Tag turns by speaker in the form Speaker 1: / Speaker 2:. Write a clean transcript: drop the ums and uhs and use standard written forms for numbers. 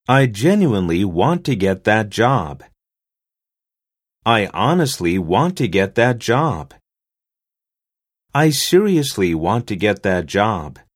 Speaker 1: I genuinely want to get that job. I honestly want to get that job. I seriously want to get that job.